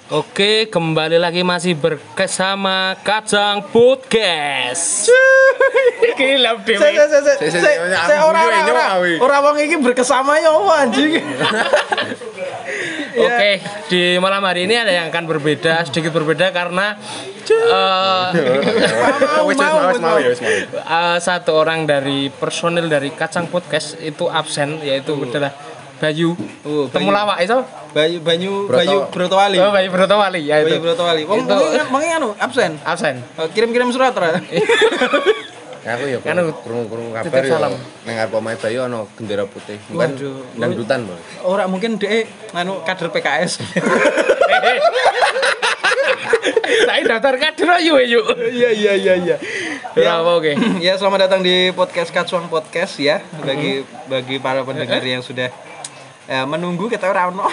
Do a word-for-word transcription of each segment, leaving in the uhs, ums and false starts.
Oke, kembali lagi masih bersama Kacang Podcast. Gila dhewe. Saya saya saya saya orang-orang orang wong iki berkesama ya anjing. Oke, di malam hari ini ada yang akan berbeda, sedikit berbeda karena uh, mau mau ya uh, satu orang dari personil dari Kacang Podcast itu absen, yaitu adalah Bayu. Oh, Temu lawak itu? Bayu Banyu Bayu Brotowali. Oh, Bayu Brotowali ya itu. Bayu Brotowali. Wong mengi anu absen. Absen. Kirim-kirim surat ra. Aku ya krungu-krungu kabar ya. Ning arep omahe Bayu ana gendera putih. Kan dangdutan, Bos. Ora mungkin dhek anu kader P K S. Saya daftar kader ayo yuk. Iya iya iya iya. Ya, oke. Ya, selamat datang di podcast Kacang Podcast ya. Bagi bagi para pendengar yang sudah ya, menunggu kita ora ono.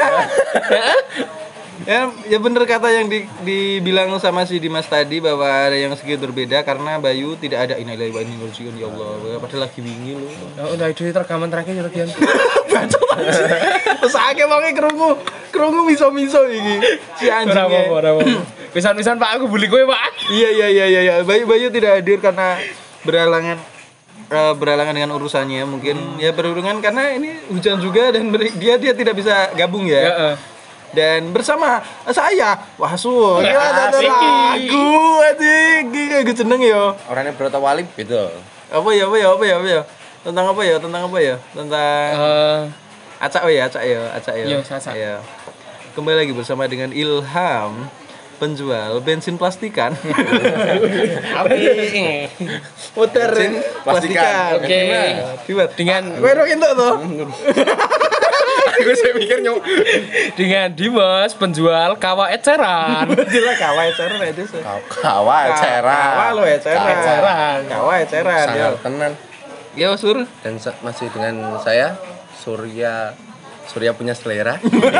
Ya, ya bener kata yang di, dibilang sama si Dimas tadi bahwa ada yang sedikit berbeda karena Bayu tidak ada innalillahi wa inna ilaihi raji'un ya Allah. Padahal lagi wingi lho. Ya udah itu rekaman terakhir ya Dian. Bacot aja. Terus akeh wong krungu, krungu miso-miso iki. Si anjing. Ora apa-apa, ora apa-apa. Pisan-pisan Pak aku bully kowe, Pak. Iya iya iya iya iya. Bayu Bayu tidak hadir karena berhalangan uh, berhalangan dengan urusannya mungkin hmm. ya berhubungan karena ini hujan juga dan ber- dia dia tidak bisa gabung ya. Ya uh. Dan bersama saya Wahsu kira ada lagu anjing iki jeneng ya. Orangnya Brotowali beda. Apa ya apa ya apa ya apa ya. Tentang apa ya? Tentang apa ya? Tentang uh, acak oh ya, acak ya, acak ya. Iya, acak. Ya. Kembali lagi bersama dengan Ilham, penjual bensin plastikan. Oke. Muter plastikan. Oke. Dengan kowe ro entuk to. Aku saya mikir nyok dengan Dimas penjual kawa eceran. Jelas kawa eceran itu. Kawa eceran. Kawa lo eceran. Eceran. Kawa eceran ya. Tenan. Ya Sur. Dan masih dengan saya Surya Surya punya selera.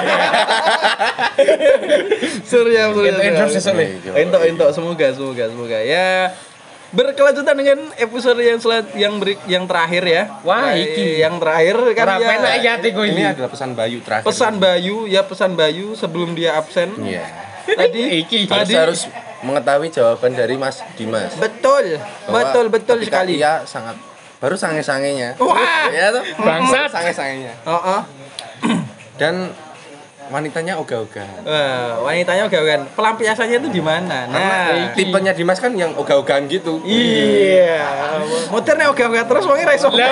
Surya Surya. Itu endorse sesuk. Entuk entuk semoga semoga semoga ya. Berkelanjutan dengan episode yang selat yang beri, yang terakhir ya. Wah, iki yang terakhir kan ya. Ini adalah pesan Bayu terakhir. Pesan Bayu ya pesan Bayu sebelum dia absen. Iya. Tadi iki tadi harus mengetahui jawaban dari Mas Dimas. Betul. Betul betul sekali. Iya, sangat baru sange-sangenya. Wah. Ya tuh. Bangsat Sange-sangenya. Heeh. Dan wanitanya ogah-ogahan. Wah, wanitanya ogah-ogahan. Pelampiasannya itu di mana? Nah, tipenya Dimas kan yang ogah-ogahan gitu. Iya. Motornya ogah-ogahan terus wong ra iso.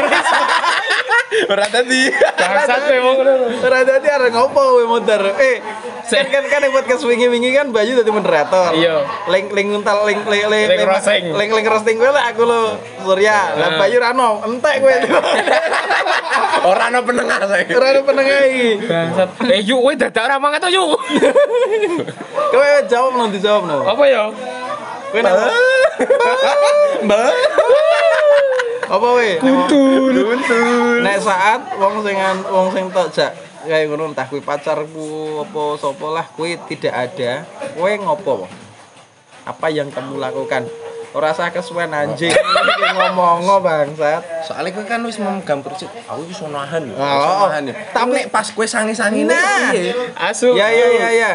Ora tadi. bangsat wong ngono. Ora tadi arep ngopo kowe motor. Eh, kan kan kan buat kes wingi-wingi kan Bayu dadi moderator. Iya. Link link nguntal link link link Link roasting. link link roasting kowe lah aku lo Surya. Lah Bayu ra ono, entek kowe. Ora ono penengah saya. Ora ono penengah iki. Bangsat. Eh yuk kowe dadak ora mangan to yuk. Kowe jawab no dijawab no. Apa ya? Kowe nang Mbak. Apa we? Kuntul. Kuntul. Nek saat wong sing wong sing tok jak kayak ngono entah kuwi pacarku apa sapa lah kuwi tidak ada. Kowe ngopo? Apa yang kamu lakukan? Ora usah kesuwen anjing iki ngomong bangsat. Soalnya kowe kan wis memegang prinsip, aku iso nahan lho. Oh, nahan. Tapi nek pas kowe sangi-sangine nah, piye? Asu. Ya ya ya ya.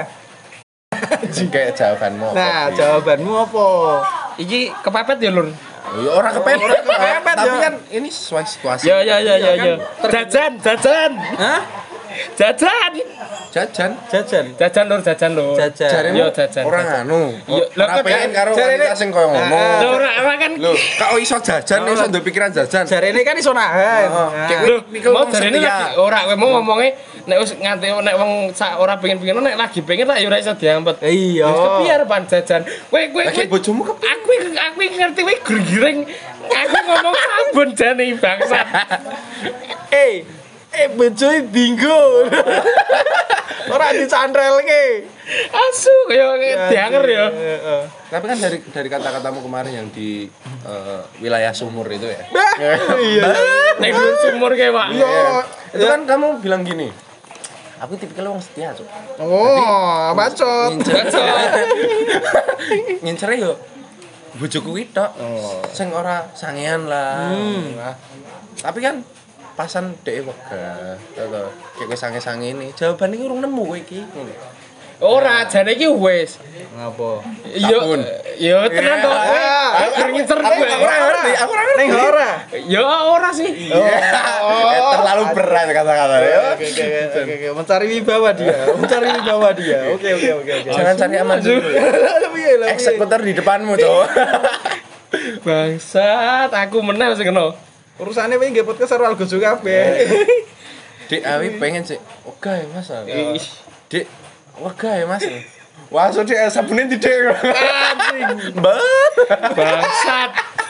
Jika jawabanmu apa? Nah, jawabanmu apa? Iki kepepet ya, Lur. Ya ora kepepet. Ora kepepet, Tapi ya. kan ini sesuai situasi. Ya ya ya ya ya. Jajan, jajan. Hah? Jajan. Jajan. Jajan. Jajan Lur, jajan Lur. Jajan. Jaremu Yo jajan. orang anu. Yo, lho, Ora pengen karo jarene- wanita sing koyo ngomong. Lho ora ora kan. Lho, kok iso jajan iso ndek pikiran jajan. Jarene kan iso nahan. Heeh. Nah. Kayak Lho, mikir mau wong jarene setia. lagi ora kowe mau ngomongnya nek wis nganti nek wong sak ora pengen-pengen nek lagi pengen tak ya ora iso diampet. Iya. Wis kepiye arepan jajan. Kowe kowe Lagi bojomu kep aku aku ngerti kowe giring. Aku ngomong sabun jane bangsat. Eh, eh bojoe bingung. Ora dicandrelke. Asu kaya dianger ya. Heeh. Tapi kan dari dari kata-katamu kemarin yang di eh, wilayah sumur itu ya. Iya. Nek dulur sumur kae, Pak. Iya. Itu kan kamu bilang gini. Aku tipikal wong setia, Cuk. Oh, bacot. Nyincere yo bojoku kuwi tok. Sing ora sangean lah. Nah, tapi kan pasan dhek wegah. Toto, kayak kowe sange-sange ini. Jawaban iki urung nemu kowe iki. Ngono. Ora, jane iki wis. Ngapa? Yo yo tenan to. Aku kurang ngincer Aku ora ngerti, aku ora ngerti. Ning ora. Yo ora sih. Oh, terlalu berat kata-kata ya. Oke oke oke oke mencari wibawa dia, mencari wibawa dia. Oke oke oke oke. Jangan cari aman dulu. Eksekutor di depanmu, Cok. Bangsat, aku meneh sing kena. Urusane wingi nggih podcast karo Algojo kabeh. Dik, awi pengen sih. Oke, Mas. Dik, wega ya, Mas. Wah, so dik sabune di dik. Anjing. Bangsat.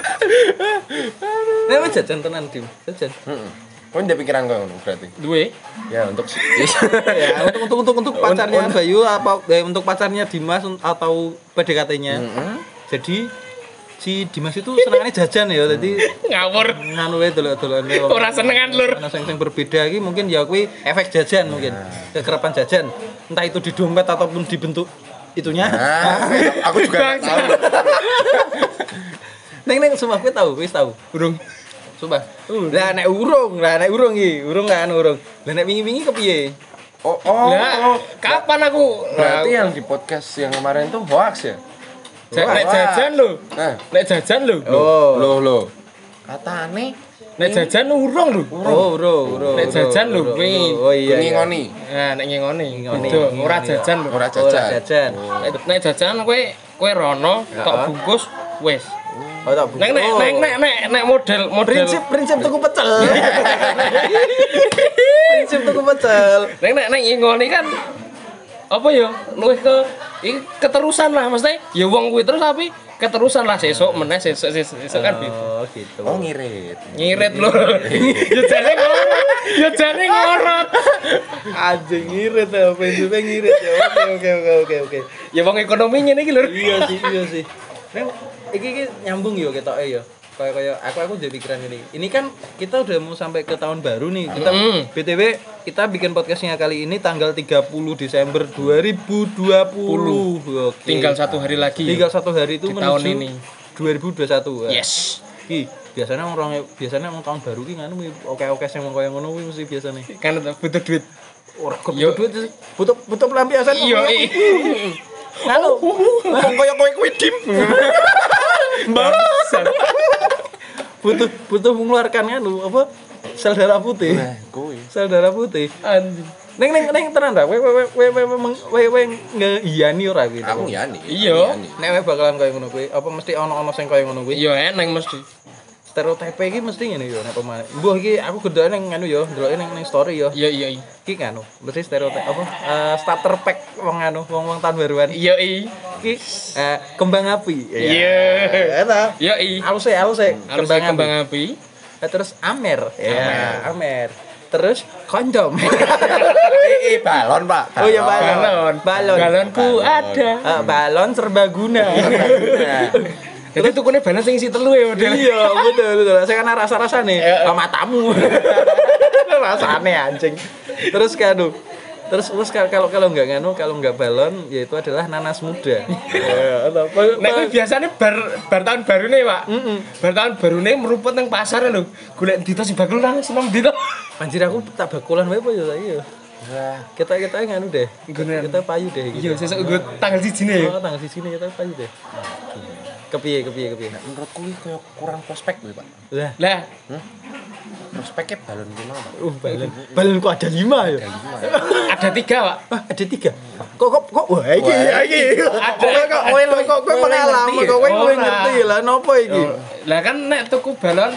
Nek wis jajan tenan, Dim. Jajan. Heeh. Kau ndak pikiran kau ngono berarti? Duwe. Ya, untuk Ya, untuk untuk untuk untuk pacarnya Bayu apa eh, untuk pacarnya Dimas atau P D K T-nya. Jadi si Dimas itu senengannya jajan ya, jadi ngawur nganu wae delok-delokan. Ora senengan lur. Ana sing sing berbeda iki mungkin ya kuwi efek jajan mungkin. Kekerapan jajan. Entah itu di dompet ataupun di bentuk itunya. Nah, aku juga tahu. Neng neng sumpah kowe tahu, wis tahu. Urung. Sumpah. Lah nek urung, lah nek urung iki, urung kan urung. Lah nek wingi-wingi kepiye? Oh, oh. Lah, kapan aku? Berarti yang di podcast yang kemarin tuh hoax ya? Nek jajan lho. Nah, Nek jajan lho. Oh. loh loh. Katane Nek jajan urung lho. Oh, urung, urung. Nek jajan lho kuwi. Oh iya. ngingoni. Nah, nek ngingoni. Ngingoni. Itu ora jajan lho. Ora Ora jajan. jajan. Nek nek jajan kowe kowe rono tok bungkus wis. Oh, tak Nek nek nek nek nek nek model model prinsip prinsip tuku pecel. Prinsip tuku pecel. nek nek nek ngingoni kan apa ya luwih ke iki keterusan lah mesti ya wong kuwi terus tapi keterusan lah sesuk meneh sesuk sesuk kan gitu. Oh, gitu. Oh, ngirit. Ngirit lho. Ya jane ngorot. Ya jane ngorot. Anjing ngirit ya, prinsipnya ngirit ya. Oke oke oke oke oke. Ya wong ekonomi ngene iki lho. Iya sih, iya sih. Neng, iki iki nyambung yo ketoke yo. Kayak kayak aku aku jadi pikiran ini. Ini kan kita udah mau sampai ke tahun baru nih. Kita Mm. B T W kita bikin podcastnya kali ini tanggal tiga puluh Desember dua ribu dua puluh. Oke. Tinggal satu hari lagi. Tinggal satu hari itu Di menuju tahun ini. dua ribu dua puluh satu. Yes. Ki, biasanya orang biasanya orang tahun baru ki nganu oke-oke sing koyo ngono kuwi mesti biasane. Kan butuh duit. Ora Yo. butuh duit, butuh butuh pelampiasan. Iya. Nganu. Wong koyo kowe kuwi dim. Bangsat. butuh butuh mengeluarkan anu apa sel darah putih. Nah, kuwi. Sel darah putih. Anjing. Neng neng neng tenan ta? Kowe kowe kowe kowe kowe ngiyani ora gitu. Aku ngiyani. Iya. Nek kowe bakalan koyo ngono kuwi, apa mesti ana-ana sing koyo ngono kuwi? Iya eneng mesti. Stereotip iki mesti ngene yo nek pemain. Mbuh iki aku gedhe nang anu yo, ndeloke nang nang story yo. Iya iya. Iki kan mesti stereotip apa? Eh, starter pack wong anu, wong-wong tahun baruan. Iya iya. Iki eh, kembang api. Iya. Eta. Iya iya. Alus e, alus e. Harus Kembang api. kembang api. Eh, terus amer. Ya, amer. Terus kondom. Eh, balon, Pak. Oh iya balon. Balon. Balon. Balonku ada. Eh, balon serbaguna. Jadi tukune balon sing isi telu ya model. Iya, betul betul. Saya kan rasa-rasa nih, sama matamu. Rasane anjing. Terus kado. Terus terus kalau kalau enggak nganu, kalau enggak balon, yaitu adalah nanas muda. Ya, apa? Nek kuwi biasane bar bar tahun baru nih, Pak. Bar tahun baru nih meruput nang pasar lho. Golek dito sing bakul nang seneng dito. Anjir aku tak bakulan wae apa ya saiki ya. Wah, Kita kita nganu deh. Nggunen. Kita payu deh iki. Iya, sesuk gue tanggal siji nih. Oh, tanggal sini kita payu deh. Kepiye kepiye kepiye. menurutku iki koyo kurang prospek kuwi, Pak. Lah, Lah, Prospeknya balon ki mau, Pak. uh balon. Balonku ada lima ya. ada tiga, Pak. Ah, ada tiga. Kok kok kok wah iki iki. Ada. Kowe kok kowe kok kowe pengalaman kok kowe kowe Ora. ngerti lah nopo iki. Lah kan nek tuku balon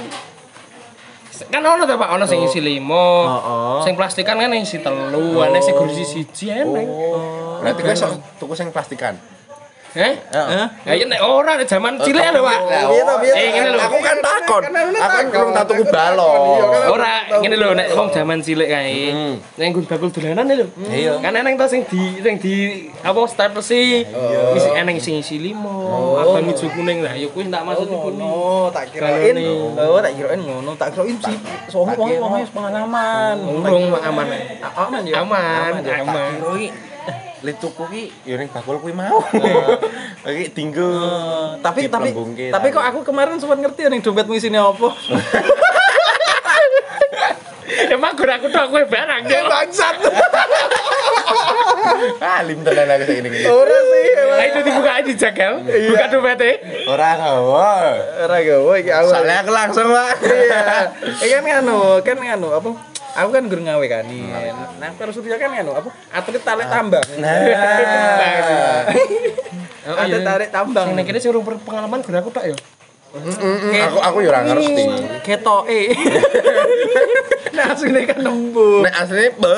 kan ono ta Pak, ono sing isi limo. Heeh. Sing plastikan kan isi telu, ana sing gurisi siji eneng. Berarti kowe sok tuku sing plastikan. Heh? Hah? Ya iya nek ora nek jaman cilik lho, Pak. Piye to, piye to? Eh, ngene lho. Aku kan takon. Aku kan kurang tak tuku balon. Ora ngene lho nek wong jaman cilik kae. Nek nggon bakul dolanan lho. Iya. Kan eneng to sing di sing di apa starter sih. Wis eneng sing isi limo, abang ijo kuning lah. Ya kuwi tak maksud iku. Oh, tak kirain. Oh, tak kirain ngono. Tak kirain sih. Soalnya wong wong wis pengalaman. Urung aman. Aman ya. Aman, ya. aman. Kira iki le tuku ki ya ning bakul kuwi mau. Iki dinggo. Eh, tapi tapi Diplembungke, tapi kok aku kemarin sempat ngerti ning dompetmu isine apa. Emang gue aku tok kowe barang ya. Bangsat. Alim tenan aku saiki iki. Ora sih. Lah itu dibuka di jakel. Buka dompetnya. Ora gawa. Ora gawe iki aku. Soalnya aku langsung, Pak. Iya. Eh kan nganu, kan nganu apa? Aku kan gur ngawe kan. Nah, terus dia kan nganu apa? Atlet tarik tambang. Nah. Atlet tarik tambang. Sing nek kene sing urung pengalaman gur aku tok ya. Aku aku ya ora ngerti. Ketoke. Nah, asline kan nembung. Nek asline be.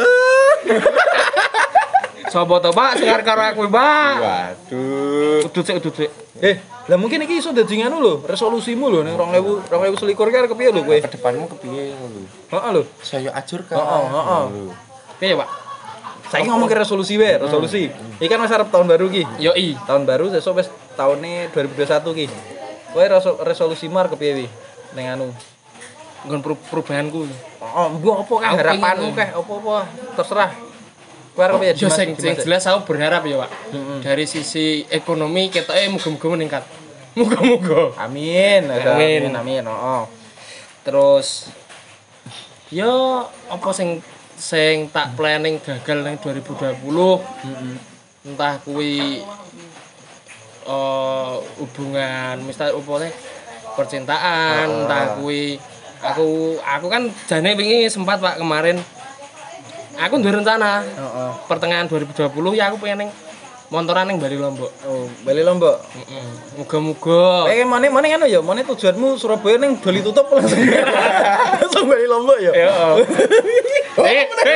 Sopo to, Pak? Sing arep karo aku, Pak. Waduh. Udut sik, udut sik. Eh, lah mungkin iki iso dadi nganu lho, resolusimu lho ning dua ribu dua ribu selikur ki arep kepiye lho kowe? Ke depanmu kepiye ngono lho? Heeh lho. Saya ajur kan. Heeh, heeh. Piye, Pak? Saiki ngomong ke resolusi wae, resolusi. Iki kan wis arep tahun baru ki. Yo i. Tahun baru sesuk wis taune dua ribu dua puluh satu ki. Kowe resolusimu arep kepiye wi? Ning anu. Nggon perubahanku. Oh, mbok apa kah Aku harapanmu pengen- kah apa-apa terserah. Kowe arep kepiye? Yo Dimas? sing sing Dimas? jelas aku berharap ya, Pak. Dari sisi ekonomi ketoke muga-muga meningkat. Muga-muga. Amin. Amin. Amin, amin. Heeh. Terus yo apa sing sing tak planning gagal ning dua ribu dua puluh. Entah kuwi eh hubungan misalnya apa nih percintaan, entah kuwi aku aku kan jane wingi sempat Pak kemarin aku duwe rencana Heeh. pertengahan dua ribu dua puluh ya aku pengen ning montoran ning Bali Lombok. Oh, Bali Lombok. Heeh. Muga-muga Eh, mana mana anu ya? Mana tujuanmu Surabaya ning Bali tutup langsung. Langsung Bali Lombok ya? ya. Eh, eh.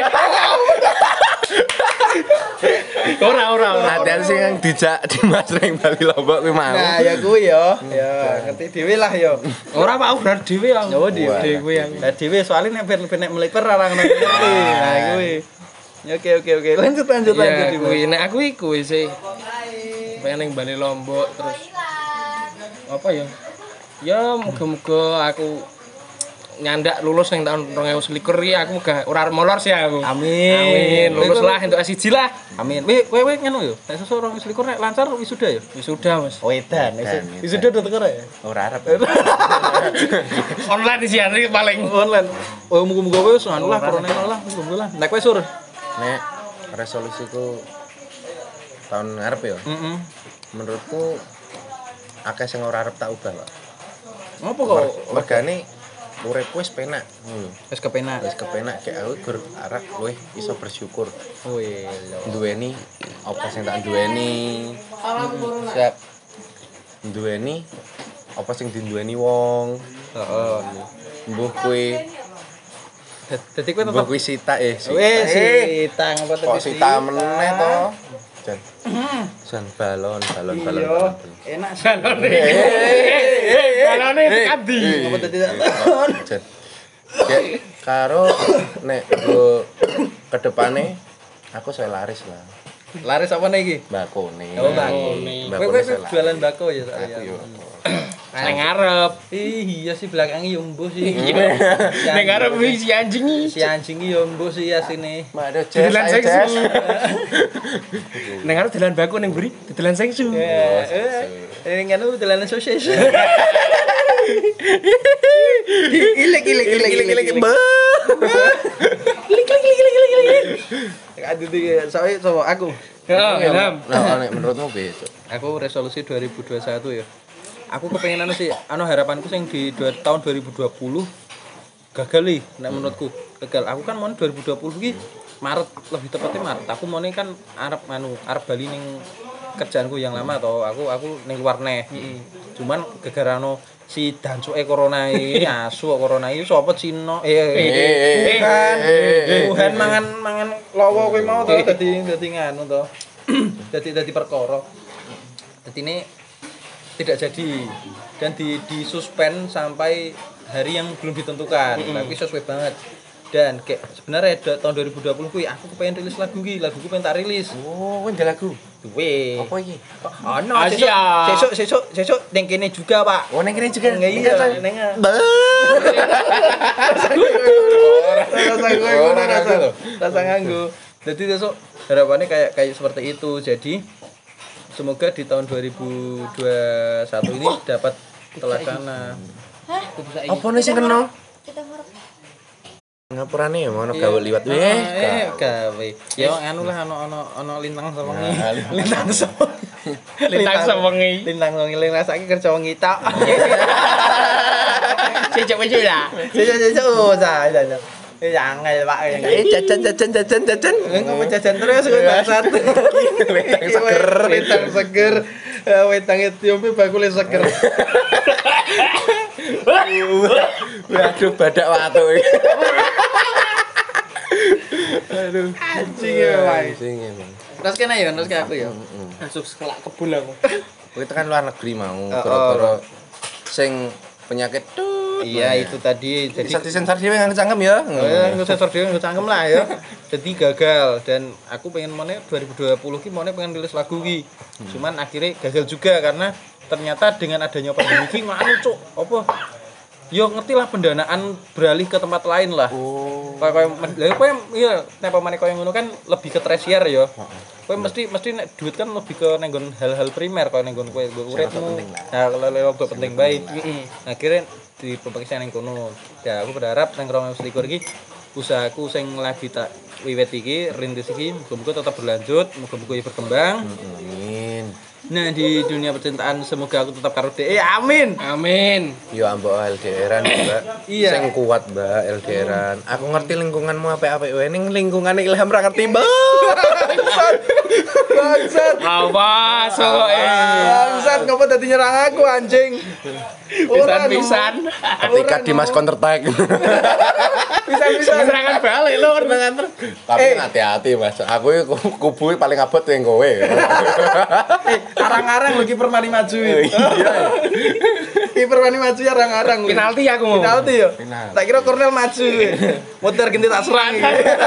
Ora ora ora. Latihan sing yang dijak Dimas ning Bali Lombok kuwi mau. Nah, ya kuwi ya. Ya, ngerti dhewe lah ya. Ora Pak, ora dhewe aku. Oh, dhewe. Dhewe aku. Lah dhewe soalnya nek ben nek meliper ora ngono ngerti. Nah, kuwi. Ya oke oke oke. Lanjut lanjut lanjut. Ya kuwi nek aku iku sih. Pengen ning Bali Lombok terus apa ya? Ya muga-muga aku nyandak lulus ning tahun dua ribu selikur iki aku muga ora molor sih aku. Amin. Amin. Lulus lah entuk S satu lah. Amin. Wih, kowe kowe ngono yo. Nek sesuk orang wis likur nek lancar wisuda ya. Wisuda, Mas. Oh, edan. Edan, Wisuda udah teker ya. Ora arep. Online sih hari paling. Online. Oh, muga-muga kowe wis anu lah corona lah, muga-muga lah. Nek kowe sur. Nek resolusiku tahun ngarep ya. Heeh. Menurutku akeh sing ora arep tak ubah, Pak. Ngopo kok? Mergane uripku wis penak ngono. Wis kepenak. Wis kepenak kayak aku gur arep luwih iso bersyukur. Oh iya. Duweni apa sing tak duweni. Siap. Duweni apa sing dinduweni wong. Heeh. Mbuh kuwi Dadi kowe mbuh tetep kuwi sita eh. Sita. wis Eh, sitang apa kok sita meneh to. Jan. Jan balon, balon, balon. Iya, balon. enak sih. Balone. Eh, balone tekan ndi? Apa tadi tak Jan. Kayak karo nek go ke depane aku saya laris lah. laris apa nih iki? Mbakone. Oh, bako. Mbakone Kowe kowe saya laris. jualan bako ya tak Aku yo. Nang ngarep. Ih, iya sih belakangnya yo mbuh sih. Nang ngarep wis si anjing iki. Si anjing iki yo mbuh sih asine. Mak ada Didelan jazz, sengsu. jazz. Nang ngarep dalan baku ning mburi, didelan sengsu. Eh, eh, ini kan dolanan sosis. Ilek ilek ilek ilek ilek. Ilek ilek ilek ilek ilek. Aduh tuh soalnya sama aku. Heeh, Ilham. Nah, nek menurutmu piye, Cuk? Aku resolusi dua ribu dua puluh satu ya. Aku kepengen anu sih, anu harapanku sing di dua, tahun dua ribu dua puluh gagal nih, nek menurutku gagal. Aku kan mau dua ribu dua puluh ki Maret, lebih tepatnya Maret. Aku mau kan arep anu, arep bali ning kerjaanku yang lama atau aku aku ning luar neh. Cuman gara-gara anu si dancuke corona iki asu kok corona iki sapa Cina eh eh kan Wuhan mangan mangan lawa kowe mau to dadi dadi nganu to dadi dadi perkara dadi ini tidak jadi dan di di suspend sampai hari yang belum ditentukan tapi sesuai banget dan kayak sebenarnya da- tahun dua ribu dua puluh kuwi aku kepengen rilis lagu ki laguku pengen tak rilis Oh, kowe ndek lagu. duwe Apa iki? ono Asia. sesuk sesuk sesuk ning kene juga Pak Oh, ning kene juga. Nggak iya, neng rasa gue Oh, ngono rasa rasa lo. rasa nganggo. Jadi besok harapannya kayak kayak seperti itu. Jadi semoga di tahun dua ribu dua puluh satu ini dapat terlaksana. Apa nih sing kena? Kita harap ngapurane ya ono gawe liwat weh. Eh, gawe. Ya anu lah ono ono ono lintang sewengi. Lintang sewengi. Lintang sewengi. Lintang sewengi lintang saiki kerja wengi tok. Cicak wis lah. Cicak-cicak usah. Eh angel Pak. Eh jajan jajan jajan jajan. Ngomong jajan terus kowe bangsat. Wedang seger. Wedang seger. Wedang Ethiopia bakule seger. Waduh badak watu iki. Aduh, anjing ya, Pak. Anjing emang. Terus kene ya, terus ke aku ya. Langsung sekelak kebul aku. Kowe tekan luar negeri mau gara-gara sing penyakit tuh. Iya, itu tadi Jadi jadi sensor dhewe nang cangkem ya. oh ya, nggak sensor dhewe nggak cangkem lah ya. Jadi gagal dan aku pengen mana dua ribu dua puluh ki mana pengen rilis lagu ki. Cuman akhirnya gagal juga karena ternyata dengan adanya pandemi ki nganu cuk. Apa? Yo ngerti lah pendanaan beralih ke tempat lain lah. Oh. Kayak kayak kowe iya nek pamane koyo ngono kan lebih ke tersier ya. Kowe mesti mesti nek duit kan lebih ke nenggon hal-hal primer koyo nenggon kowe uripmu. Nah, kalau lewat penting bae. Akhirnya di pemeriksaan yang kono. Ya aku berharap nang dua ribu dua puluh iki usahaku sing lagi tak wiwit iki rintis iki muga-muga tetap berlanjut, muga-muga berkembang. Amin. Nah di dunia percintaan semoga aku tetap karo dhek. Amin. Amin. Yo ambok L D R-an, Mbak. Iya. Sing kuat, Mbak, L D R-an. Aku ngerti lingkunganmu apik-apik wae ning lingkungane Ilham ra ngerti, Mbak. Bangsat. Awas soe. Bangsat ngopo dadi nyerang aku anjing. Pisan-pisan. Ketika Dimas counter attack. Pisan-pisan. Serangan balik lho, serangan. Tapi hati-hati, Mas. Aku iku kubu paling abot yang kowe. Eh, arang-arang lho kiper mari maju. Iya. Kiper mari maju arang-arang. Penalti aku mau. Penalti yo. Penalti. Tak kira Cornel maju. Muter ganti tak serang.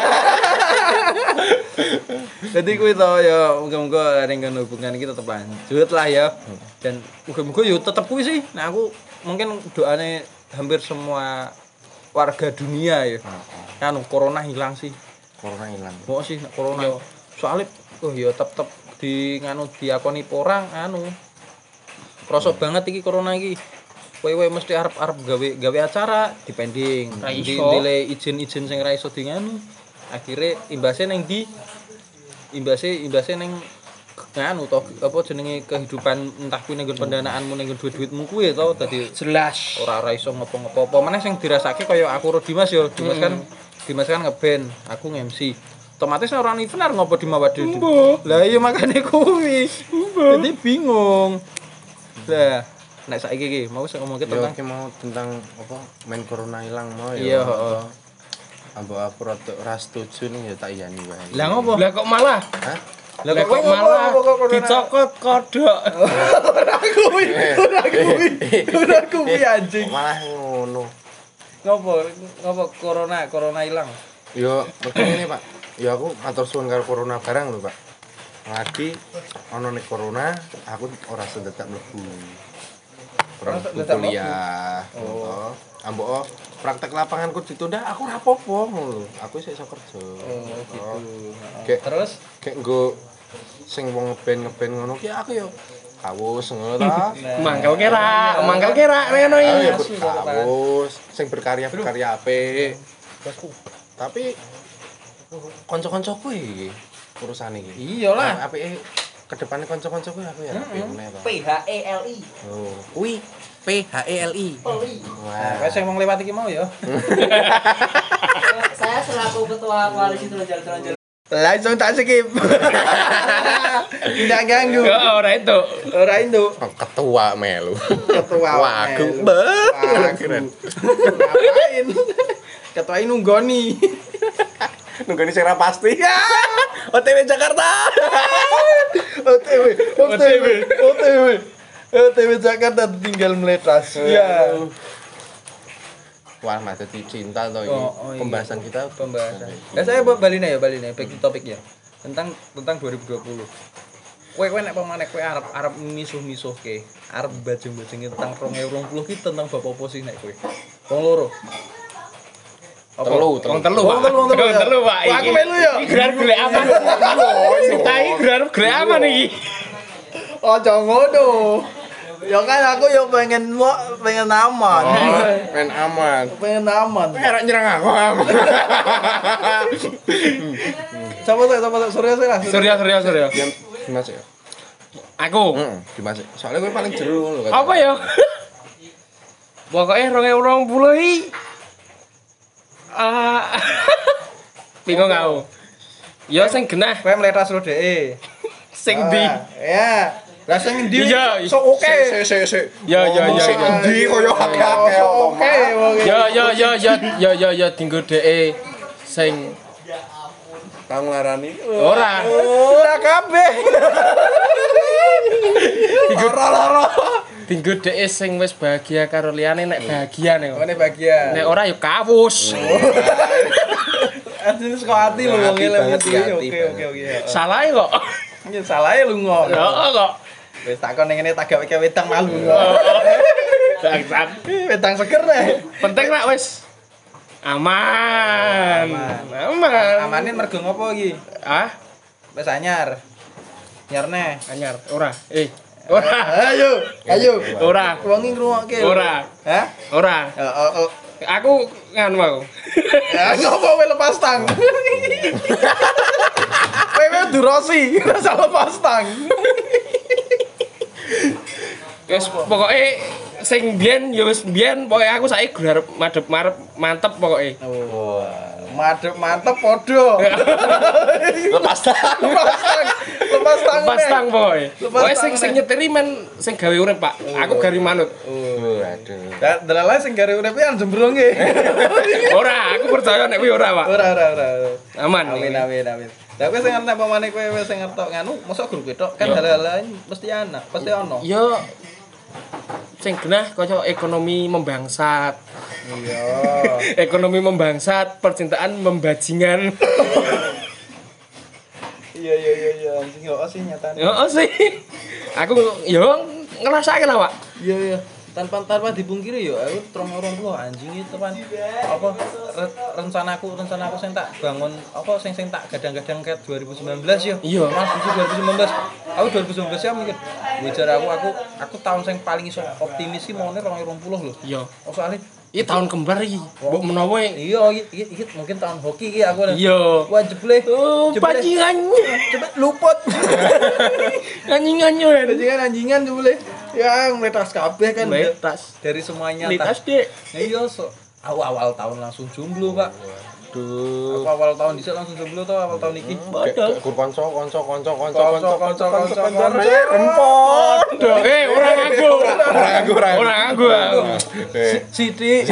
Jadi kuwi to ya muga-muga ning kono hubungan iki tetep lanjut lah ya. Dan muga-muga yo tetep kuwi sih. Nah aku mungkin doane hampir semua warga dunia ya. Kan corona hilang sih. Corona hilang. Kok sih nek corona soalnya oh ya tetep di nganu diakoni porang anu. Krasa banget iki corona iki. Kowe-kowe mesti arep-arep gawe gawe acara dipending. Ra Di iso. dile izin-izin sing ra iso di nganu. Akhire imbase ning di imbase imbase ning nganu to apa jenenge kehidupan entah kuwi ning pendanaanmu ning duit-duitmu kuwi to dadi Jelas. ora ora iso ngopo-ngopo apa meneh sing dirasake kaya aku karo Dimas ya Dimas kan Dimas kan ngeband aku nge-M C otomatis ora ono event arep ngopo di Mawade lah iya makane kuwi jadi bingung lah nek saiki iki mau sing ngomongke Yo tentang iki mau tentang apa main corona hilang mau ya. Iya, heeh. Ambok aku rada ora setuju nih ya tak iyani wae. lah ngopo Lah kok malah Hah? Lah kok malah dicokot kodok. ora kuwi ora kuwi ora kuwi anjing Malah ngono. ngopo ngopo corona corona ilang Yo begini Pak. Ya aku matur suwun karo corona barang lho, Pak. Lagi ono nek corona aku ora sedetak mlebu. Ora Ora mlebu sedetak kuliah. Oh. Ambok praktek lapanganku ditunda aku ora apa-apa ngono lho. Aku isih iso kerja. oh gitu Kayak terus kayak nggo sing wong ngeband ngeband ngono ki aku yo kawus ngono ta. Mangkel kira, mangkel kira ngono Aku iki. yo kawus sing berkarya berkarya apik. Tapi kanca-kancaku iki urusan iki. iyalah Apike kedepane kanca-kancaku aku ya apik meneh to. P H E L I Oh, kuwi P H E L I. Peli. Wah. Nah, sing wong lewat iki mau ya. Saya selaku ketua koalisi Tulunjal Tulunjal. Langsung tak skip. Tidak ganggu. Kok ora itu. Ora itu. Ketua melu. Ketua. Wagu Melu. banget. Wagu. Ngapain? Ketua ini nunggoni. Nunggani sing ra pasti. O T W Jakarta. O T W, O T W, O T W. O T W Jakarta tinggal meletas. Iya. Wah, mah dadi cinta to iki. Oh, oh iya. Pembahasan kita Pembahasan. Nah, saya balik nih ya, balik nih back to topic ya. Tentang tentang dua ribu dua puluh. Kowe kowe nek pemane kowe arep arep misuh-misuhke, arep bajing-bajinge tentang dua ribu dua puluh ki tentang bapak opo sih nek kowe? Wong loro. Apa? Telu, Wong telu, Wong telu, wong telu. Wong telu, Pak. Wah, aku melu ya. Iki gelar golek apa? Kita iki gelar golek apa niki? Ojo ngono. Ya kan aku yo pengen mo, pengen aman. Oh, pengen aman. Pengen aman. Era nyerang aku. Coba saya coba Surya saya. Surya Surya Surya. Diam Dimas ya. Aku. Heeh, Dimas. Soalnya gue paling jero lho. Apa ya? Pokoknya dua ribu dua puluh iki ah bingung aku. Ya sing genah, Kowe meletas lo dhek. sing di. Ya. Lah sing ndi? Iya. So oke. Se se se. Ya ya ya. Sing ya. endi koyo akeh-akeh Oke. Ya ya ya ya ya ya ya dinggo dhek sing Kang nglarani. ora. Ora kabeh. Ora-ora. Dinggo dhek sing wis bahagia karo liyane nek bahagia nek. Ngene bagian. Nek ora ya kawus. Anjir saka ati lho wong Hati elem banget, iki. hati Oke oke oke. Salah kok. Ya salah ya lu ngomong. Ya kok. Wis takon ngene tak gawe wedang malu. Bangsat. Wedang seger deh. Penting nak wis aman. Aman. Amane mergo ngopo iki? Ah, Wis anyar. Nyarne. anyar ora. Eh, ora. Ayo, ayo. Ora. Wong iki ngrungokke. Ora. Hah? Ora. Oh, oh, oh. Aku nganu aku. Ya ngopo kowe lepas tang? Kowe durosi, rasa lepas tang. Wis pokoke sing biyen ya wis biyen pokoke aku saiki garep madhep marep mantep pokoke. Oh. Madep mantep padha. Lepas tang. Lepas tang. Lepas tang. Pas tang pokoke. Lepas Pokoke tang, sing sing Nek. nyetiri men sing gawe urip, Pak. Aku gari manut. Oh, aduh. Dalah sing gare uripe an jembrong nggih. Ora, aku percaya nek kuwi ora, Pak. Ora ora ora. Aman. Amin amin amin. Lah kowe sing ngerti apa maneh kowe wis sing ngertok nganu, mosok grup tok kan Yo. hal-hal lain mesti ana, pasti ono. Yo sing genah kaya ekonomi membangsat. Iya. Ekonomi membangsat, percintaan membajingan. Iya iya iya iya anjing yo sih nyatane. Yo sih. Aku yo ngrasake lah, Pak. Iya iya. Tanpa tanpa dipungkiri yo aku terong orang tua anjing itu pan apa re, rencanaku rencanaku sing tak bangun apa sing sing tak gadang-gadang kayak dua ribu sembilan belas yo. Iya. Mas dua ribu sembilan belas. Aku dua ribu sembilan belas ya mikir. Wajar aku aku aku tahun sing paling iso optimis sih maune dua ribu dua puluh lho. Iya. Oh soalnya Iki tahun kembar iki. Mbok menawa iya iki iki mungkin tahun hoki iki aku. iya. Wah jeble. Oh, Jeble. bajingan. Cepet luput. Anjing-anjing. Bajingan anjingan jeble. Ya metas kabeh kan. Metas. Dari semuanya Metas, Dek. Ya iya so. Awal-awal tahun langsung jomblo, Pak. Aduh. Aku awal tahun dhisik langsung jomblo to awal tahun iki. Padahal. Gur kanca kanca kanca kanca Kanca kanca kanca kanca. rempot. Eh, ora ngaku. Ora aku ora. Ora ngaku. aku. Eh, Siti.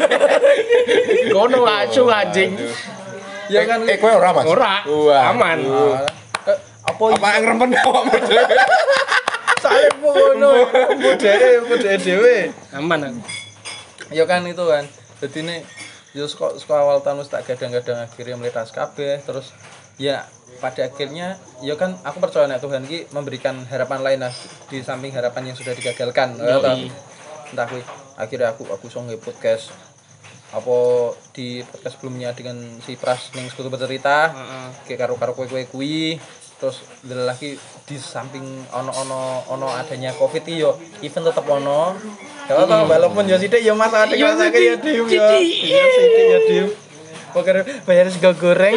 Kono acu anjing. Ya kan eh kowe ora Mas? Ora. Wah. Aman. Eh, apa Apa yang rempen awakmu dhewe? saya ngono. Budhe budhe dhewe. Aman aku. Ya kan itu kan. Jadi ini ya kok awal tahun wis tak gadang-gadang akhirnya meletas kabeh terus ya pada akhirnya ya kan aku percaya nek Tuhan ki memberikan harapan lain lah di samping harapan yang sudah digagalkan. Ya toh. Entah kuwi akhirnya aku aku iso nge podcast apa di podcast sebelumnya dengan si Pras ning Sekutu Bercerita. Heeh. Kayak karo-karo kowe-kowe kuwi terus lagi di samping ono-ono ono adanya Covid iki yo event tetep ono. Ya toh walaupun yo sithik yo Mas ada Yo, ngrasake sithik, ya Dim yo. sithik. Iya sithik ya Dim. Pokoke bayar sego goreng.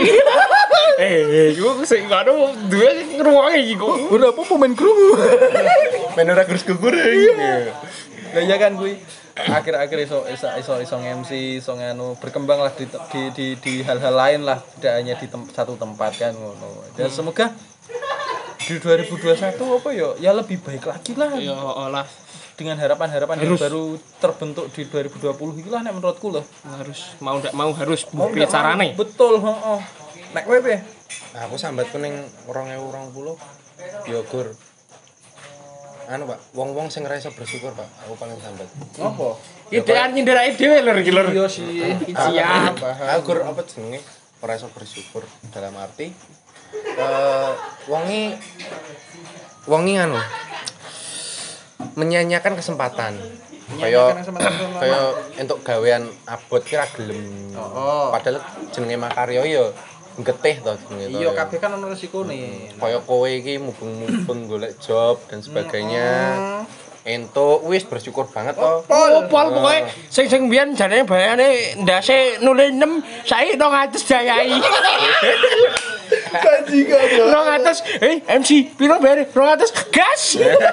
Eh, iku sing karo duwe ngrungokke iki kok. Ora apa pemain krungu. Men ora gerus goreng. Lah ya kan kuwi akhir-akhir iso iso iso iso M C iso nganu berkembang lah di di di, di hal-hal lain lah tidak hanya di tem, satu tempat kan ngono. Dan semoga di dua ribu dua puluh satu apa ya ya lebih baik lagi lah Ya Allah, dengan harapan-harapan yang Harus. baru terbentuk di dua ribu dua puluh iki lah nek menurutku loh. harus mau ndak mau harus Mau piye nggak carane. mau, betul, heeh. Nek kowe piye? Aku sambatku ning dua ribu dua puluh yo gur. Anu Pak, wong-wong sing ora iso bersyukur Pak, aku paling sambat. Ngopo? Idean nyindirake dhewe lho iki lho. Iya sih. Siap. Aku gur apa jenenge? Ora iso bersyukur dalam arti eh wongi wongi anu menyanyiakan kesempatan. Kaya Menyanyiakan kesempatan selama- kaya entuk gawean abot kira gelem. Oh. Padahal jenenge makarya ya getih to jenenge to. Iya kabeh kan ono resikone. Kaya kowe iki mubeng-mubeng golek job dan sebagainya. Entuk wis bersyukur banget to. Pol pol pokoke sing sing mbiyen jarene bayane ndase nulis enam saiki dua ratus jayai. Bajingan yo. dua ratus eh M C piro bayar dua ratus gas.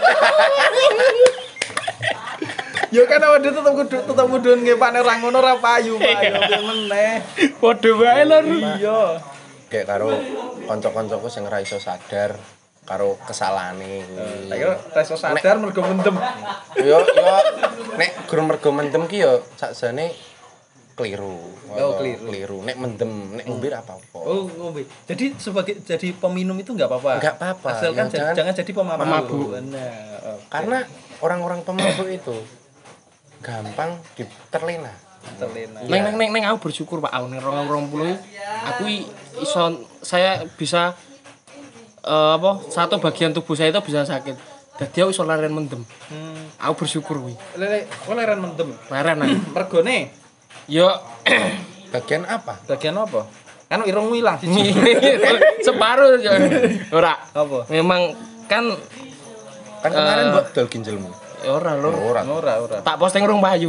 Ya kan awake tetep kudu tetep kudu ngepane ora ngono ora payu Pak yo meneh. Padha wae lho. Iya. Kayak karo kanca-kancaku sing ora iso sadar karo kesalahane kuwi. Tak kira reso sadar mergo mendem. Yo yo nek gur mergo mendem ki yo sakjane keliru. Oh, keliru. Keliru. Nek mendem, nek ngombe ora apa-apa. Oh, ngombe. Jadi sebagai jadi peminum itu enggak apa-apa. Enggak apa-apa. Asalkan Ya, jangan, jangan- jangan jadi pemabuk. Pemabuk. Benar. Oke. Karena orang-orang pemabuk itu gampang diterlena. terlena. Neng neng neng neng aku bersyukur Pak aku neng dua ribu dua puluh aku i- iso saya bisa eh, apa satu bagian tubuh saya itu bisa sakit. Dadi aku iso leren mendem. Hmm. Aku bersyukur kuwi. Lele, kok leren mendem. Leren aku. Mergone Yo Bagian apa? bagian apa? Kan irung ilang siji. separuh yo. Ora. Apa? Memang kan Kan kemarin Eh. buat dol ginjalmu. ya ora lho. Ora. Ora, ora. Tak posting rung payu.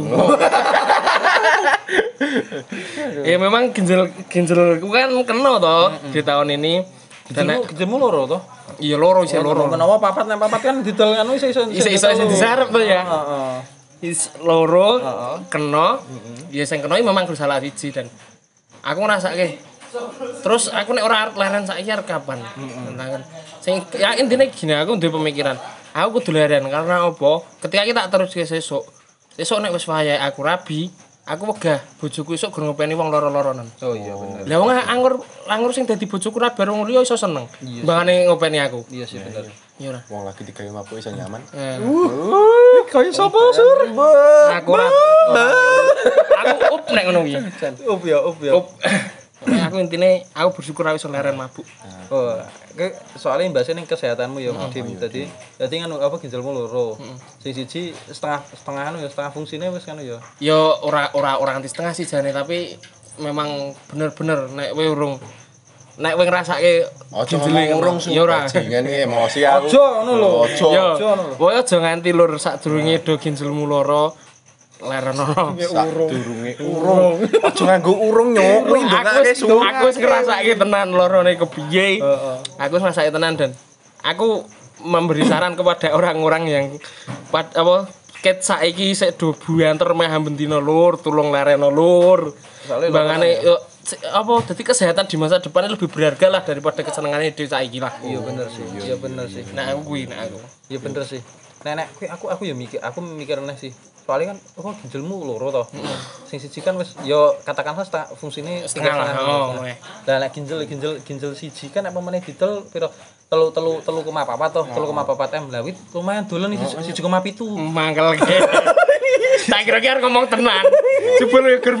Ya memang ginjal ginjalku kan kena toh di tahun ini. Dan Gejemu, gejemu loro toh? iya loro sih loro. Kenapa papat nek papat kan didol anu iso iso. Iso-iso sing disarep tuh ya. Heeh. Is loro kena. Ya sing kena iki memang salah siji dan aku ngrasake. Terus aku nek ora leren saiki arep kapan? Kan. Sing ya intine gini aku duwe pemikiran. Aku kudu leren karena apa? Ketika kita terus ke sesuk. Sesuk nek wis wayahe aku rabi, aku wegah bojoku esuk gur ngopeni wong loro-loronan. Oh iya bener. Lah wong anggur anggur sing dadi bojoku rabi wong liya iso seneng. Mbangane ngopeni aku. Iya sih bener. Ya ora. Wong lagi digawe mabuk iso nyaman. Eh. Kaya sapa sur? Aku ora. Aku up nek ngono kuwi. Up ya, up ya. Up. Aku intine aku bersyukur aku iso leren mabuk. Oh, ke soalnya mbase ning kesehatanmu ya, Dim. Dadi dadi kan apa ginjalmu loro. Sing siji setengah setengah anu ya, setengah fungsine wis kan ya. Ya ora ora ora nganti setengah sih jane tapi memang bener-bener nek kowe urung nek kowe ngrasake Ojo ngomong urung ya ora. bajingan iki emosi aku. Ojo ngono lho. Ojo. Ya Ojo ngono lho. kowe aja nganti lur sadurunge do ginjalmu loro lerenono. Sadurunge urung. Ojo nganggo urung nyok. Kuwi Aku ndongake wis aku wis ngrasake tenan lorone kepiye. Aku wis ngrasake tenan dan aku memberi saran kepada orang-orang yang pad, apa ket saiki sik do buanter meh bendina lur, tulung lereno lur. Soale Bangane yo si- apa dadi kesehatan di masa depan lebih berharga lah daripada kesenengane dhewe saiki lah. Iya bener sih. Iya bener sih. Nah aku kuwi nek aku. Iya bener sih. Nenek, kuwi aku aku ya mikir, aku mikir aneh sih. Soalnya kan oh ginjalmu loro toh. Sing siji kan wis ya katakanlah setengah fungsine Setengah lah, oh, oke. Lah nek ginjal ginjal ginjal siji kan apa meneh didol pira telu telu telu koma papat toh, telu koma papat M. Lah wit lumayan dolen iki siji koma pitu. Mangkel ge. Tak kira-kira ngomong tenan. Jebul yo ger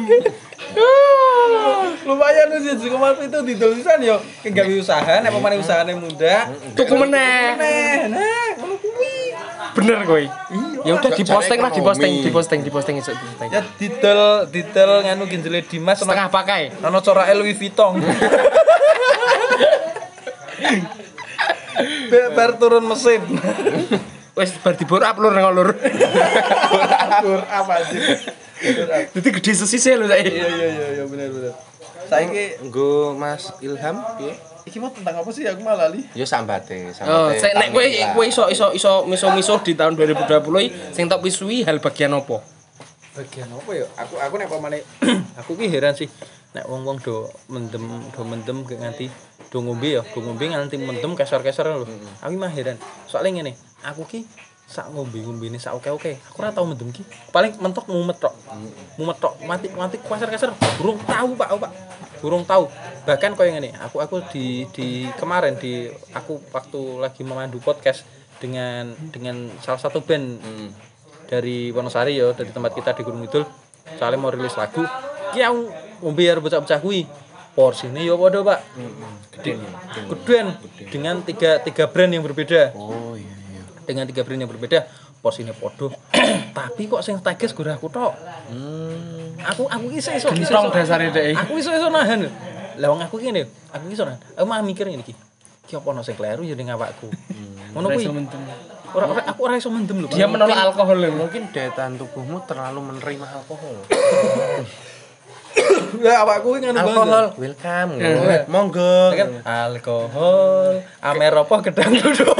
Lumayan wis siji koma pitu didol pisan yo kegawe usaha nek pemane usahane muda. tuku meneh. Nah, nah, ngono kuwi. Bener kowe. Ya udah Gak diposting lah, cari diposting, ekonomi. diposting, diposting iso diposting. Ya didol didol nganu ginjale Dimas ana Setengah pakai. ana corake Louis Vuitton. Be- Bar turun mesin. Wis bar dibor up lur nang lur. Dur apa sih? Dadi gede sesise lho saiki. Iya iya iya iya bener bener. Saiki Nggo Mas Ilham piye? iki mau tentang apa sih aku malah lali. Ya sambate, sambate. Oh, sik nek kowe Tanggal. kowe iso iso iso miso-miso di tahun dua ribu dua puluh iki sing tak pisui hal bagian apa? Bagian apa ya? Aku aku nek pamane aku ki heran sih nek wong-wong do mendem do mendem ke nganti do ngombe ya, do ngombe nganti mendem keser-keser lho. Aku mah heran. Soalnya ngene, aku ki sak ngombe-ngombene sak oke-oke. Aku ora tau mendem ki. Paling mentok mumet tok. Mumet tok, mati mati keser-keser. Burung tahu Pak, Pak. Burung tahu. Bahkan koyo ngene, aku aku di di kemarin di aku waktu lagi memandu podcast dengan dengan salah satu band dari Wonosari ya, dari tempat kita di Gunung Kidul. Soalnya mau rilis lagu. Ki aku ngombe arep bocah-bocah kuwi. Porsine ya padha, Pak. Geden. Geden dengan tiga tiga brand yang berbeda. Oh iya iya. Dengan tiga brand yang berbeda, porsine padha. Tapi kok sing teges gur aku tok. Hmm. Aku aku ki iso iso. Gentong dasare dhek. Aku iso iso nahan. Lah wong aku ki ngene, aku ki soran. Aku mah mikir ngene iki. Ki apa ono sing kleru ya ning awakku. Ngono kuwi. Ora ora aku ora iso mendem lho. Dia menolak alkohol lho. Mungkin daya tahan tubuhmu terlalu menerima alkohol. Ya awakku ki ngono Alkohol, welcome. Monggo. Kan alkohol, amer apa gedang duduk.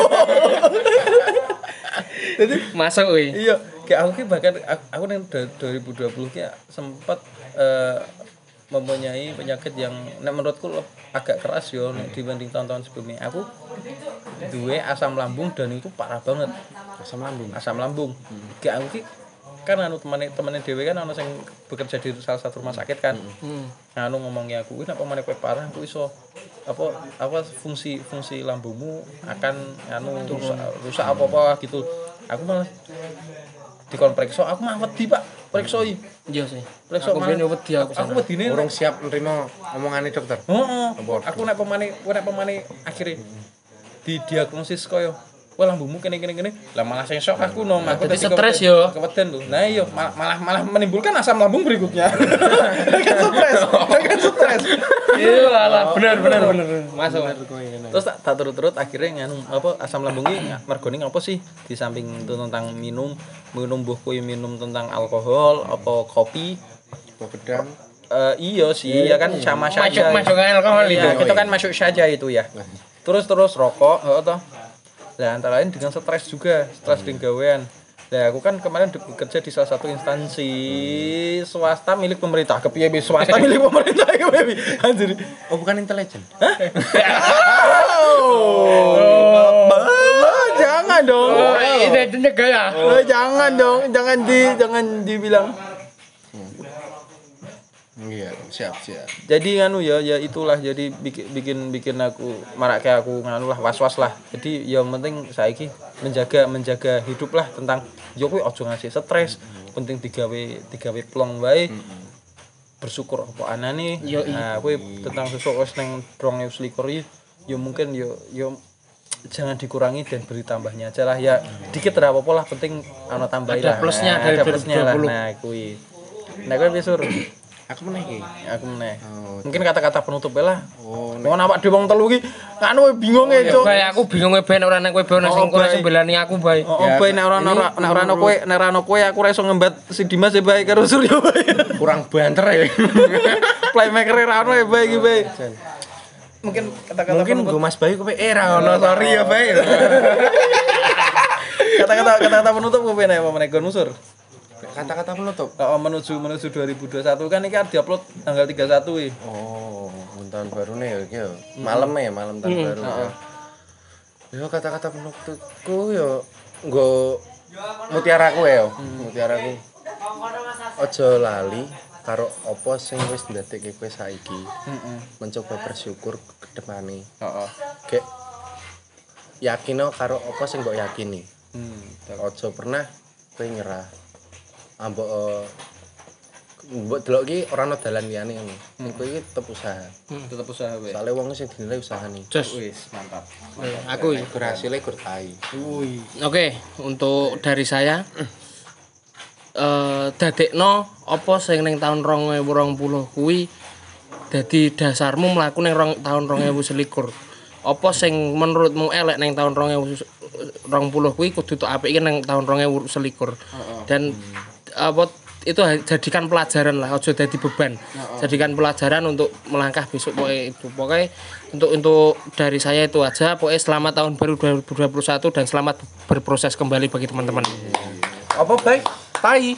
Jadi Masuk kuwi. iya, kayak aku ki bahkan aku, aku ning dua ribu dua puluh ki sempat eh, mempunyai penyakit yang nek menurutku le- agak keras yo nek dibanding tahun-tahun sebelumnya. Aku duwe asam lambung dan itu parah banget. Asam lambung. Asam lambung. Kayak aku ki kan anu temane temane dhewe kan ana sing bekerja di salah satu rumah sakit kan. Hmm. Anu ngomongi aku, "Kuwi nek pemane kowe parah aku iso apa apa fungsi fungsi lambungmu akan anu rusak, rusak apa-apa gitu." Aku malah dikon periksa, aku mah wedi, Pak. Periksoi. Iya sih. Periksa Aku malah- ben wedi aku Aku sana. wedine Urung siap nerima omongane dokter. Heeh. Aku nek pemane, kowe nek pemane akhire didiagnosis koyo wah lambungmu kene kene kene. Lah malah sing shock aku nom. Aku Jadi tadi stres keweden- yo. Keweden lho. Nah iya malah malah malah menimbulkan asam lambung berikutnya. Kan stres. Kan stres. Iya lah, bener bener bener. Masuk. Terus tak, tak turut-turut akhirnya nganu apa asam lambungnya mergone apa sih di samping itu tentang minum minum buh kuwi minum tentang alkohol apa kopi Buah pedang. Eh iya sih ya kan sama saja. Masuk masuk alkohol Iya, itu. itu kan masuk saja itu ya. Terus terus rokok, heeh toh. Lah antara lain dengan stres juga, stres di gawean. Lah aku kan kemarin di- bekerja di salah satu instansi swasta milik pemerintah. Kepiye bi swasta milik pemerintah kepiye bi? Anjir. Oh, bukan intelijen. Oh. Jangan dong. Itu itu negara. Oh, jangan dong, jangan di jangan dibilang. Iya, siap, siap. Jadi nganu ya, ya itulah jadi bikin bikin bikin aku marak kayak aku nganu lah was-was lah. Jadi yang penting saiki menjaga menjaga hidup lah tentang yo kuwi aja ngasih stres, penting digawe digawe plong wae. Bersyukur apa anane. Yo, i. Nah, kuwi tentang sesuk wis ning dua ribu selikur iki yo mungkin yo yo jangan dikurangi dan beri tambahnya aja lah ya. Dikit ora apa-apa lah, penting ana tambahin Ada lah. plusnya Nah, dari ada plusnya lah. dua ribu dua puluh. Nah, kuwi. Nah, kuwi wis sur. Aku meneh iki. Aku meneh. Oh, Mungkin kata-kata penutup lah. Oh, Mau awak dhewe wong telu iki anu bingung e, Cuk. Bae aku bingung e ben ora nek kowe ben sing kowe sing belani aku bae. Oh, bae nek ora ora nek ora ono kowe, nek ora ono kowe aku ora iso ngembat si Dimas e bae karo Suryo bae. kurang banter ya. Playmaker e ra ono e bae iki bae. Mungkin kata-kata Mungkin penutup gue Mas Bayu kowe era ono sorry ya, Bay. kata-kata kata-kata penutup kowe nek apa meneh gon musur. Kata-kata penutup. Oh, menuju menuju dua ribu dua puluh satu kan iki arep diupload tanggal tiga puluh satu iki. Oh, tahun baru nih ya, iki ya. Malam ya, malam tahun baru. Ya. Yo kata-kata penutupku yo nggo mutiaraku ya, mutiaraku. Ojo lali karo apa sing wis ndadekke kowe saiki. Heeh. Mencoba bersyukur ke depane. Heeh. Gek yakino karo apa sing mbok yakini. Hmm. Ojo pernah kowe nyerah. Ambok eh, mbok delok iki ora ono dalan liyane ngono. Ning kowe iki tetep usaha. Tetep usaha wae. Soale wong sing dinilai usahane. Jos. Wis, mantap. Aku iki. Berhasilnya gur tai. Wih. Oke, untuk dari saya eh dadekno apa sing ning taun dua ribu dua puluh kuwi dadi dasarmu mlaku ning rong, taun dua ribu selikur. Apa sing menurutmu elek ning taun dua ribu dua puluh kuwi kudu tok apik ning taun dua ribu selikur. Dan apa itu jadikan pelajaran lah, aja jadi beban. Jadikan pelajaran untuk melangkah besok pokoknya itu. Pokoknya untuk untuk dari saya itu aja. Pokoknya selamat tahun baru dua ribu dua puluh satu dan selamat berproses kembali bagi teman-teman. Apa baik? Tai.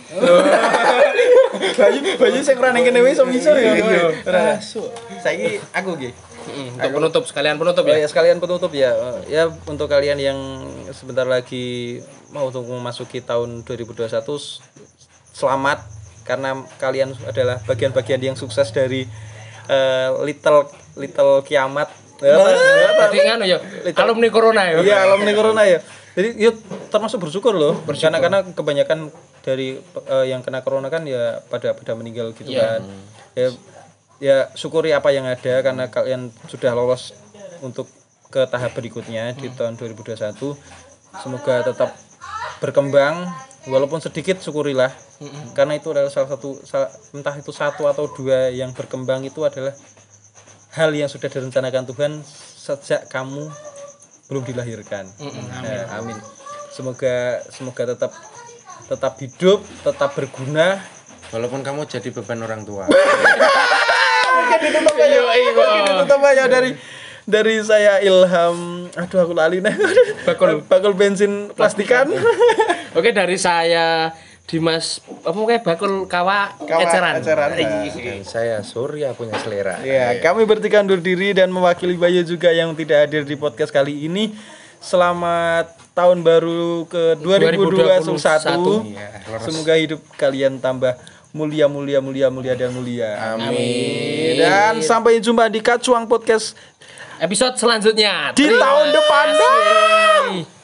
Bayu bayu sing ora ning kene wis iso ngisor ya. Ora. Saiki aku nggih. Untuk penutup sekalian penutup Oh ya. ya sekalian penutup ya. Ya untuk kalian yang sebentar lagi mau untuk memasuki tahun dua ribu dua puluh satu selamat karena kalian adalah bagian-bagian yang sukses dari eh, little little kiamat. Jadi nganu ya, alumni corona ya. Iya, alumni corona ya. Jadi yuk termasuk bersyukur loh. Karena karena kebanyakan dari eh, yang kena corona kan ya pada pada meninggal gitu Iya. kan. Ya ya syukuri apa yang ada karena kalian sudah lolos untuk ke tahap berikutnya di tahun dua ribu dua puluh satu. Semoga tetap berkembang walaupun sedikit syukurilah. Karena itu adalah salah satu salah, entah itu satu atau dua yang berkembang itu adalah hal yang sudah direncanakan Tuhan sejak kamu belum dilahirkan. Mm-hmm. Nah, amin. Semoga semoga tetap tetap hidup, tetap berguna walaupun kamu jadi beban orang tua. Mungkin ditutup aja. Mungkin ditutup aja dari dari saya Ilham. Aduh aku lali nih. Bakul bakul bensin plastikan. Oke, dari saya Dimas apa kayak bakul kawa, kawa eceran. eceran. Dan saya Surya punya selera. Ya, kami bertiga undur diri dan mewakili Bayu juga yang tidak hadir di podcast kali ini. Selamat tahun baru ke dua ribu dua puluh satu. Ya, semoga hidup kalian tambah mulia mulia mulia mulia dan mulia. Amin. Dan sampai jumpa di Kacuang Podcast episode selanjutnya di Terima tahun depan. kasih.